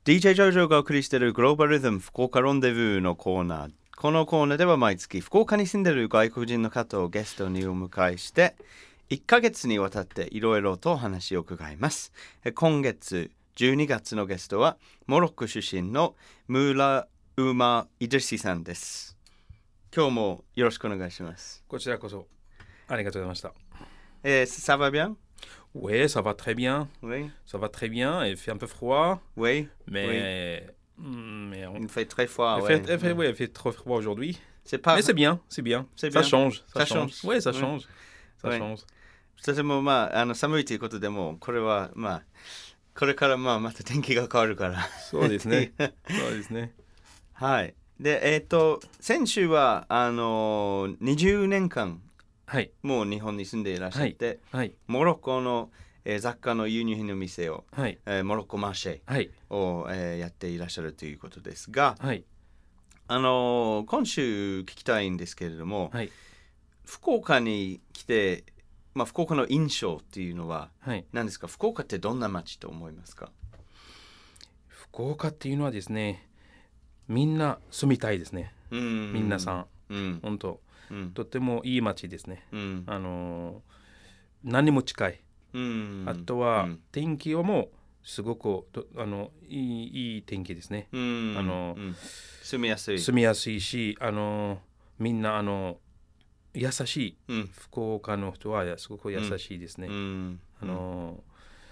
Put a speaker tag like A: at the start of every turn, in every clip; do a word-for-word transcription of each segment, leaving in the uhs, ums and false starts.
A: ディージェー ジョージョーがお送りしているグローバルリズム福岡ロンデブーのコーナー。このコーナーでは毎月福岡に住んでいる外国人の方をゲストにお迎えしていっかげつにわたっていろいろと話を伺います。今月じゅうにがつのゲストはモロッコ出身のムーラ・ウーマ・イドリシさんです。今日もよろしくお願いします。
B: こちらこそありがとうございました。
A: えー、ça va bien?
B: Oui, ça va très bien.
A: Oui.
B: Ça va très bien. Il fait un peu froid.
A: Oui.
B: Mais, oui. mais on...
A: il fait très froid.
B: Il,
A: ouais.
B: fait, il, fait, oui, il fait trop froid aujourd'hui.
A: C'est pas...
B: Mais c'est bien, c'est bien.
A: C'est
B: ça
A: bien.
B: change. Ça,
A: ça
B: change.
A: change.
B: Oui, ça
A: oui.
B: change. Ça
A: oui.
B: change.
A: とてもまあ、あの寒いということでもこれはまあこれからまあまた天気が変わるから
B: そうですねそうですね
A: はいでえっ、ー、と先週はあのー、にじゅうねんかん、はい、もう日本に住んでいらっしゃって、はいはい、モロッコの、えー、雑貨の輸入品の店を、はいえー、モロッコマーシェを、はいえー、やっていらっしゃるということですが、はい、あのー、今週聞きたいんですけれども、はい、福岡に来てまあ、福岡の印象っていうのは何ですか、はい、福岡ってどんな街と思いますか？
B: 福岡っていうのはですね、みんな住みたいですね。うん、みんなさん、うん、本当、うん、とてもいい街ですね。うん、あの何も近い、うん、あとは、うん、天気はもうすごくあのいい、いい天気ですね。うん、あの、うん、
A: 住みやすい
B: 住みやすいし、あのみんなあの優しい、うん、福岡の人はすごく優しいですね。うん、あの、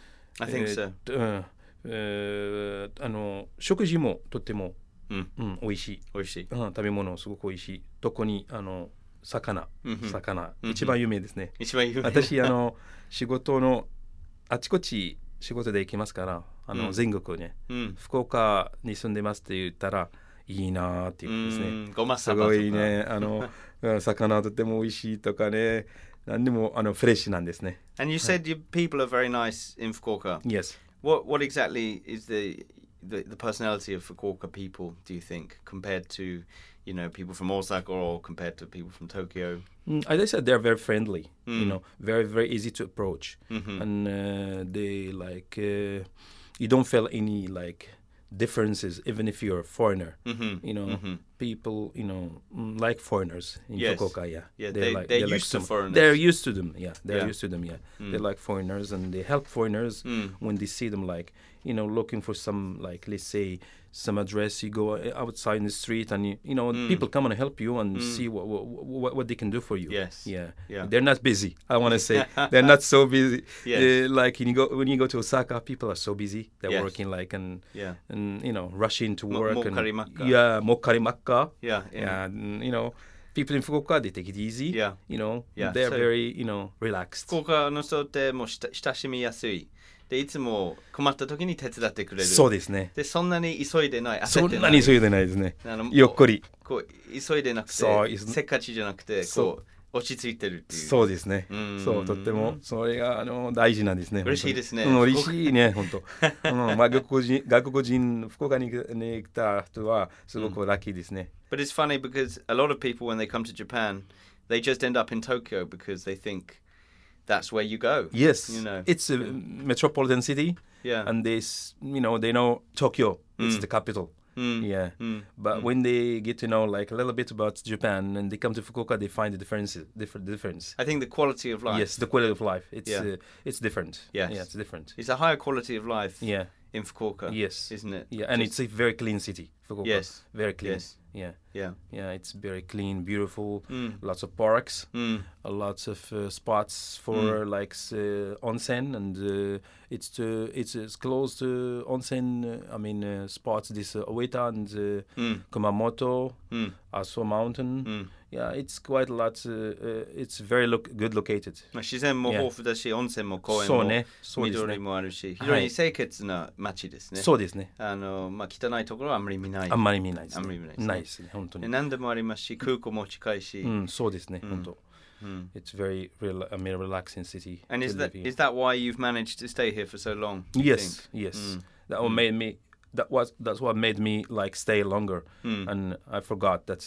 A: I think so.
B: えーうんえー、あの食事もとっても、うんうん、美味しい。
A: 美味しい、
B: うん。食べ物すごく美味しい。特にあの魚、うん、魚、うん、一番有名ですね。
A: 一番有名。
B: 私あの仕事のあちこち仕事で行きますからあの、うん、全国ね、うん、福岡に住んでますって言ったらいいなっていうですね。
A: ごまさばとか
B: すごいねあの魚とても美味しいとかね何でもあのフレッシュなんですね。
A: And you said your people are very nice in Fukuoka.
B: Yes.
A: What what exactly is the the, the personality of Fukuoka people, do you think, compared to, you know, people from Osaka or compared to people from Tokyo?
B: Mm, as I said, they're very friendly, mm. you know, very, very easy to approach. Mm-hmm. And uh, they like, uh, you don't feel any like differences even if you're a foreigner. Mm-hmm. You know, mm-hmm. people, you know, like foreigners in
A: yes.
B: Fukuoka, yeah.
A: Yeah, they're, they, like, they're, they're used like to foreigners.
B: They're used to them, yeah. They're
A: yeah.
B: used to them, yeah.
A: Mm.
B: They like foreigners and they help foreigners mm. when they see them like, you know, looking for some, like, let's say, some address. You go outside in the street and, you, you know, mm. people come and help you and mm. see what, what what they can do for you.
A: Yes.
B: Yeah.
A: yeah.
B: They're not busy, I want to say. They're not so busy.
A: Yes.
B: Uh, like, when you, go, when you go to Osaka, people are so busy. They're
A: yes.
B: working, like, and,
A: yeah.
B: and, you know, rushing to work.
A: Mo-
B: and,
A: Mokarimakka.
B: Yeah, Mokarimakka.
A: Yeah, yeah.
B: And, you know, people in Fukuoka, they take it easy.
A: Yeah.
B: You know,
A: yeah.
B: they're
A: so,
B: very, you know, relaxed.
A: 福岡の人ってもう親しみやすい。でいつも困った時に手伝ってくれる。
B: そうですね。
A: でそんなに急いでない。
B: 焦ってない。そんなに急いでないですね。ゆっくり。
A: こう急いでなくて、せっかちじゃなくて、こう落ち着いてるっていう。
B: そうですね。そうとってもそれがあの大事なんですね。
A: 嬉しいですね。
B: 嬉しいね本当。うんまあ外国人外国人福岡に来た人はすごくラッキーですね。
A: But it's funny because a lot of people when they come to Japan, they just end up in Tokyo because they think that's where you go.
B: Yes,
A: you know,
B: it's a metropolitan city.
A: Yeah,
B: and they, you know, they know Tokyo. It's
A: mm.
B: the capital.
A: Mm.
B: Yeah,
A: mm.
B: but
A: mm.
B: when they get to know like a little bit about Japan and they come to Fukuoka, they find the differences. Different difference.
A: I think the quality of life.
B: Yes, the quality of life. It's
A: yeah.
B: uh, it's different.
A: Yes.
B: Yeah, it's different.
A: It's a higher quality of life.
B: Yeah.
A: in Fukuoka.
B: Yes,
A: isn't it?
B: Yeah, and Just... it's a very clean city. Fukuoka.
A: Yes,
B: very clean.
A: Yes.
B: Yeah,
A: yeah,
B: yeah. It's very clean, beautiful.
A: Mm.
B: Lots of parks,
A: mm.
B: uh, lots of uh, spots for
A: mm.
B: like uh, onsen, and uh, it's to it's, it's close to onsen. Uh, I mean uh, spots this uh, Oita and uh,
A: mm.
B: Kumamoto,
A: mm.
B: Aso Mountain.
A: Mm.
B: Yeah, it's quite a lot. Uh, uh, it's very look good located.
A: 自然も豊富だし、温泉も公園も緑もあるし、非常に清潔な街ですね。
B: そうですね。
A: あのまあ汚いところはあんまり見ない。
B: あんまり見ないですね。
A: あんまり見ないですね。
B: ないですね、本当に。
A: 何でもありますし、空港も近いし。
B: うん、そうですね、本当。It's very, real, I mean, relaxing city.
A: And is that is that why you've managed to stay here for so long?
B: Yes, yes. That what made me. That was that's what made me like stay longer. And I forgot that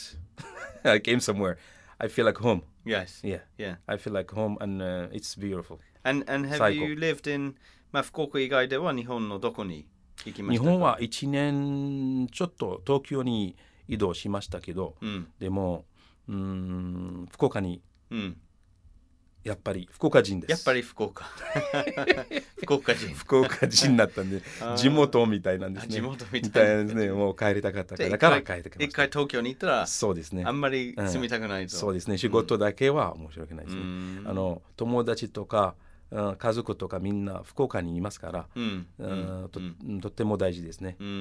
B: I came somewhere. I feel like home.
A: Yes.
B: Yeah.
A: Yeah.
B: I feel like home, and uh, it's beautiful.
A: And and have
B: Cycle.
A: you lived in まあ福岡以外では日本のどこに行きましたか？
B: 日本はいちねんちょっと東京に移動しましたけど、うん、でもうーん福岡に、うん、やっぱり福岡人です。
A: やっぱり福岡福岡人
B: 福岡人になったんで地元みたいなんですね。
A: 地元みたいなん
B: ですね。もう帰りたかったからだから帰ってきました。
A: 一回東京に行ったら
B: そうですね。
A: あんまり住みたくないと、
B: うん、そうですね。仕事だけは面白くないですね。うん、あの友達とか家族とかみんな福岡にいますから、うんうん、と, うん、とっても大事ですね。うんうん、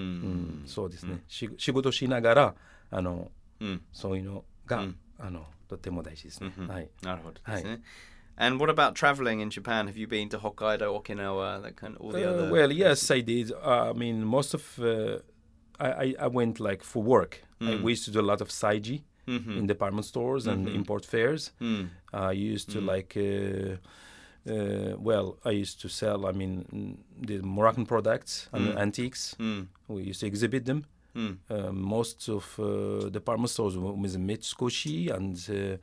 B: そうですね、うん、仕事しながらあの、うん、そういうのが、うん、あのとっても大事ですね。うんうん、はい。
A: なるほどですね。はい。And what about traveling in Japan? Have you been to Hokkaido, Okinawa, that kind of all the
B: uh,
A: other?
B: Well, yes, I did. Uh, I mean, most of uh, I, I went like for work. Mm. I, we used to do a lot of Saiji mm-hmm. in department stores and mm-hmm. import fairs. Mm. I used to mm. like. Uh, Uh, well, I used to sell, I mean, the Moroccan products and mm. antiques. Mm. We used to exhibit them. Mm. Uh, most of uh, department stores with Mitsukoshi and uh,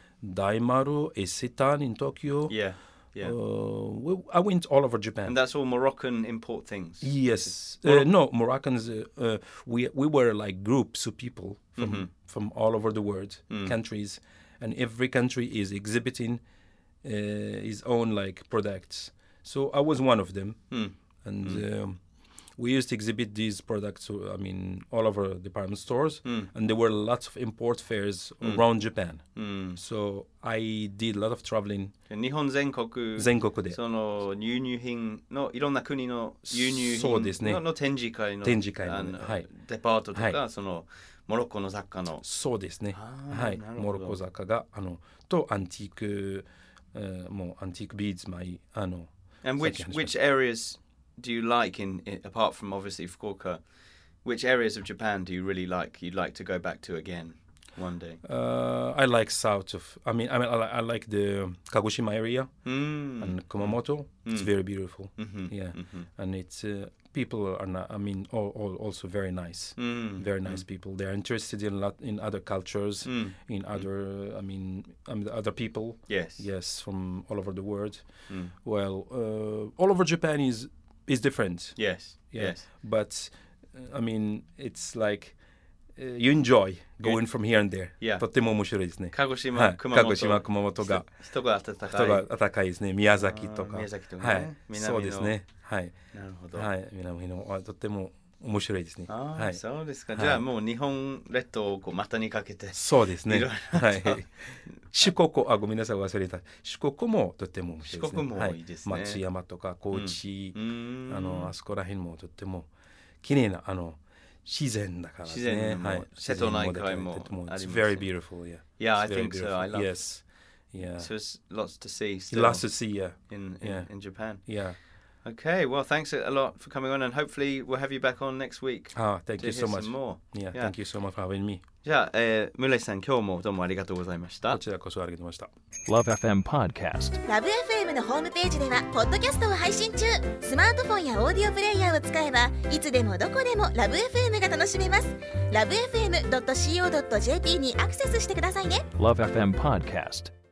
B: Daimaru, Isetan in Tokyo.
A: Yeah, yeah.
B: Uh, we, I went all over Japan.
A: And that's all Moroccan import things?
B: Yes. Uh, no, Moroccans, uh, uh, we we were like groups of people from, mm-hmm. from all over the world, mm. countries. And every country is exhibiting Uh, his own like products. So I was one of them, mm. and mm. Um, we used to exhibit these products. I mean, all over department stores, mm. and there were lots of import fairs mm. around Japan. Mm. So I did a lot of traveling.
A: 日本全国
B: 全国で
A: その輸入品のいろんな国の輸入品 の,
B: そうですね、
A: の展示会の
B: 展示会の、はい、
A: デパートとか、はい、そのモロッコの雑貨の
B: そうですね。はい、モロッコ雑貨があのとアンティークUh, more antique beads, my uh, no.
A: And which which areas do you like in, in apart from obviously Fukuoka? Which areas of Japan do you really like? You'd like to go back to again one day?
B: Uh, I like south of. I mean, I mean, I, I like the Kagoshima area mm. and Kumamoto. Mm. It's very beautiful. Mm-hmm. Yeah, mm-hmm. and it's uh, people are not. I mean, all, all also very nice. Mm. Very nice mm. people. They're interested in lot in other cultures, mm. in other. Mm. I mean, I mean, other people.
A: Yes.
B: Yes, from all over the world. Mm. Well, uh, all over Japan is is different.
A: Yes.
B: Yeah.
A: Yes.
B: But uh, I mean, it's like. Uh, you enjoy going from here and there.
A: Yeah.
B: とっても面白いですね。
A: 鹿児島、はい、熊本。
B: 鹿児島、熊本が
A: 人が暖かい。
B: 人が暖かいですね。宮崎とか。
A: 宮崎とかね。はい。
B: 南のそうですね。はい。
A: なるほど。
B: はい。南のとっても面白いですね。
A: ああ、
B: はい、
A: そうですか。じゃあもう日本列島をこう股にかけて。
B: そうですね。はい。四国、あ、ごめんなさい忘れた。四国もとっても面白いですね。
A: 四国もいいですね。
B: はい、松山とか高知、うん、あのあそこら辺もとっても綺麗なあの。自然だからですね。はい。
A: 瀬戸内海もあります。
B: It's very beautiful, yeah.
A: Yeah, I think so. I love it.
B: Yes. Yeah.
A: So there's lots to see still.
B: Lots to see, yeah.
A: In, in,
B: yeah.
A: in Japan.
B: Yeah.
A: Okay, well, thanks a lot for coming on, and hopefully we'll have you back on next week.
B: Ah, thank you so much.
A: More.
B: Yeah, yeah, thank you so much for having me.
A: じゃあ、えー、村井さん、今日もどうもありがとうございました。
B: こちらこそありがとうございまし
C: た。Love エフエム Podcast。ラブ エフエム のホームページではポッドキャストを配信中。スマートフォンやオーディオプレイヤーを使えばいつでもどこでもラブ エフエム が楽しめます。ラブ エフエムドットシーオードットジェーピー にアクセスしてくださいね。Love エフエム Podcast。